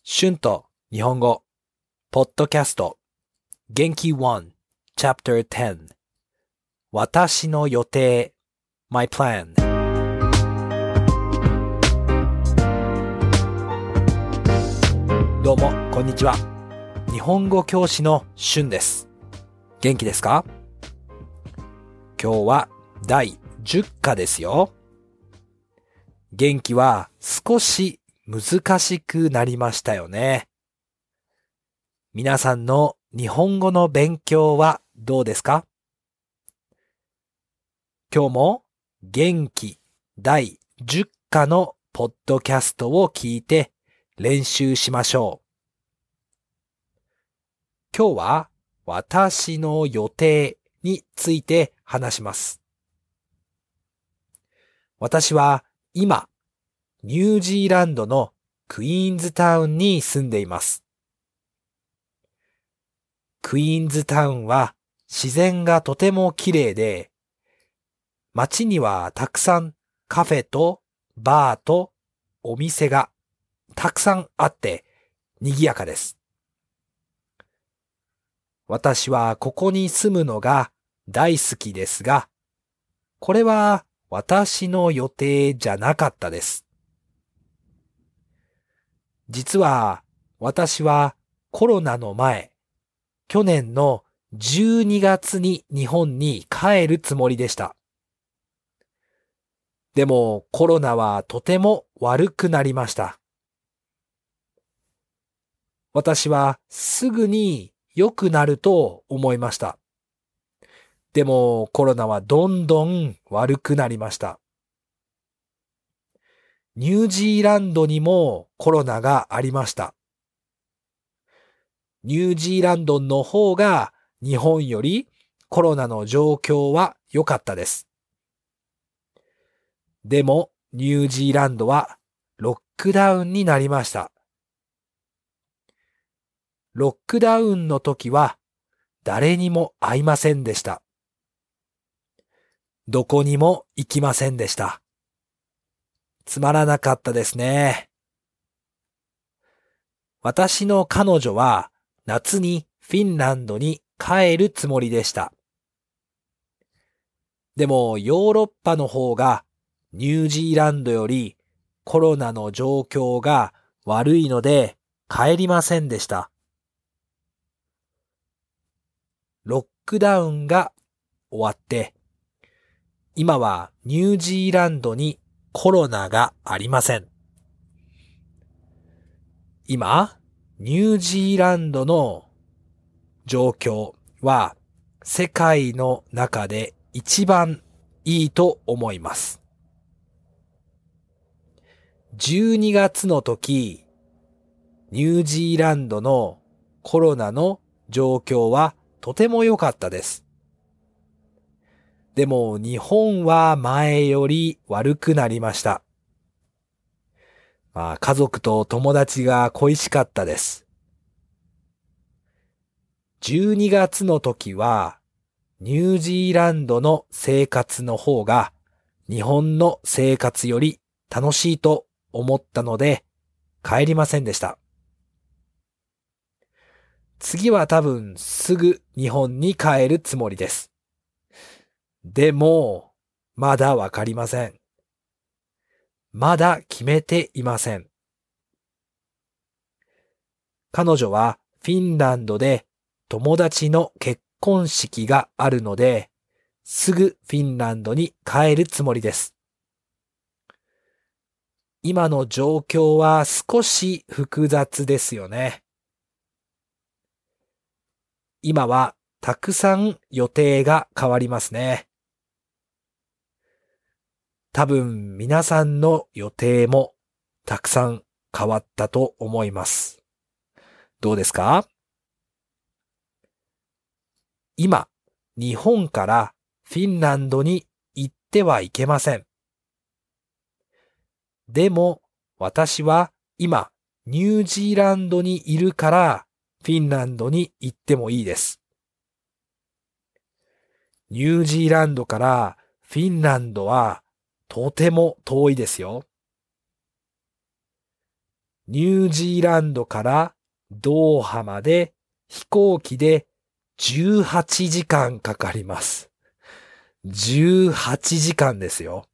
春と日本語、ポッドキャスト、元気1、Chapter 10、私の予定、My Plan。どうも、こんにちは。日本語教師の春です。元気ですか？今日は第10課ですよ。元気は少し難しくなりましたよね。皆さんの日本語の勉強はどうですか？今日も元気第10課のポッドキャストを聞いて練習しましょう。今日は私の予定について話します。私は今、ニュージーランドのクイーンズタウンに住んでいます。クイーンズタウンは自然がとても綺麗で、街にはたくさんカフェとバーとお店がたくさんあって賑やかです。私はここに住むのが大好きですが、これは私の予定じゃなかったです。実は私はコロナの前、去年の12月に日本に帰るつもりでした。でもコロナはとても悪くなりました。私はすぐに良くなると思いました。でもコロナはどんどん悪くなりました。ニュージーランドにもコロナがありました。ニュージーランドの方が日本よりコロナの状況は良かったです。でもニュージーランドはロックダウンになりました。ロックダウンの時は誰にも会いませんでした。どこにも行きませんでした。つまらなかったですね。私の彼女は夏にフィンランドに帰るつもりでした。でもヨーロッパの方がニュージーランドよりコロナの状況が悪いので帰りませんでした。ロックダウンが終わって、今はニュージーランドにコロナがありません。今、ニュージーランドの状況は世界の中で一番いいと思います。12月の時、ニュージーランドのコロナの状況はとても良かったです。でも日本は前より悪くなりました。家族と友達が恋しかったです。12月の時はニュージーランドの生活の方が日本の生活より楽しいと思ったので帰りませんでした。次は多分すぐ日本に帰るつもりです。でも、まだわかりません。まだ決めていません。彼女はフィンランドで友達の結婚式があるので、すぐフィンランドに帰るつもりです。今の状況は少し複雑ですよね。今はたくさん予定が変わりますね。多分皆さんの予定もたくさん変わったと思います。どうですか？今、日本からフィンランドに行ってはいけません。でも私は今ニュージーランドにいるからフィンランドに行ってもいいです。ニュージーランドからフィンランドはとても遠いですよ。 ニュージーランドからドーハまで飛行機で18時間かかります。18時間ですよ。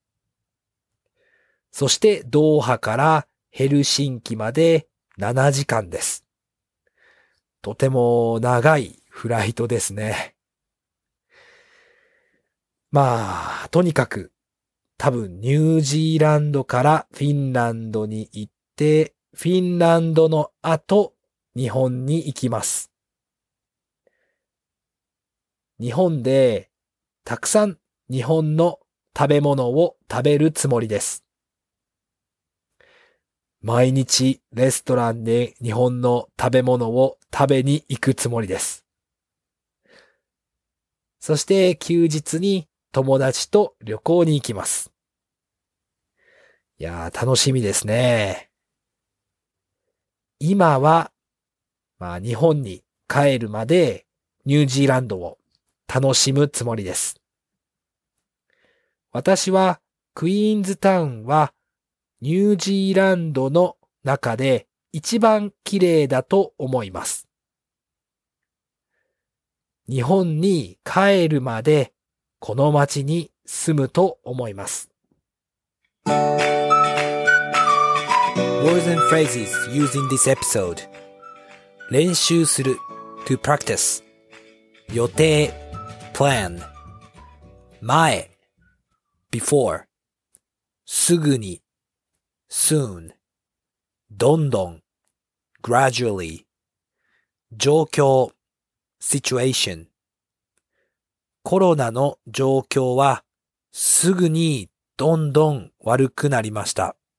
そしてドーハからヘルシンキまで7時間です。とても長いフライトですね。まあ、とにかく多分ニュージーランドからフィンランドに行って、フィンランドの後、日本に行きます。日本でたくさん日本の食べ物を食べるつもりです。毎日レストランで日本の食べ物を食べに行くつもりです。そして休日に友達と旅行に行きます。いやー、楽しみですね。今は、日本に帰るまでニュージーランドを楽しむつもりです。私はクイーンズタウンはニュージーランドの中で一番綺麗だと思います。日本に帰るまでこの街に住むと思います。Words and phrases used in this episode. 練習する to practice. 予定 plan. 前 before. すぐに soon. どんどん gradually. 状況 situation. コロナの状況はすぐにどんどん悪くなりました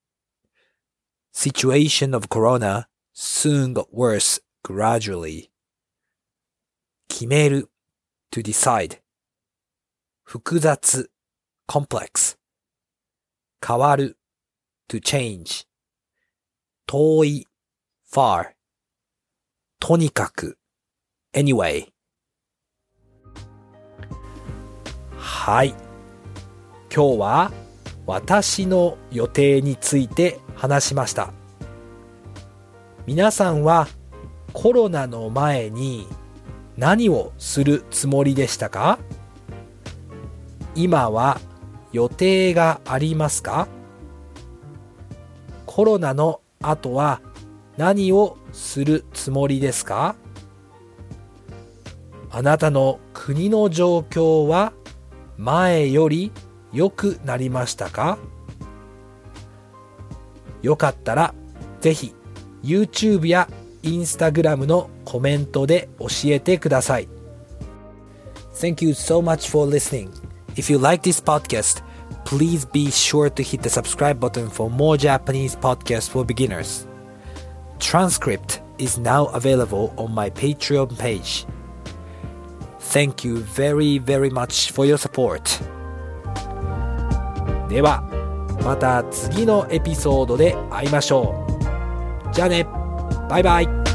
。Situation of corona soon got worse gradually. 決める to decide. 複雑 complex. 変わる to change. 遠い far. とにかく anyway. はい。今日は私の予定について話しました。皆さんはコロナの前に何をするつもりでしたか？今は予定がありますか？コロナの後は何をするつもりですか？あなたの国の状況は前より良くなりましたか？よかったらぜひ YouTube や Instagram のコメントで教えてください。Thank you so much for listening. If you like this podcast, please be sure to hit the subscribe button for more Japanese podcasts for beginners. Transcript is now available on my Patreon page. Thank you very, very much for your support. では、また次のエピソードで会いましょう。じゃあね、バイバイ。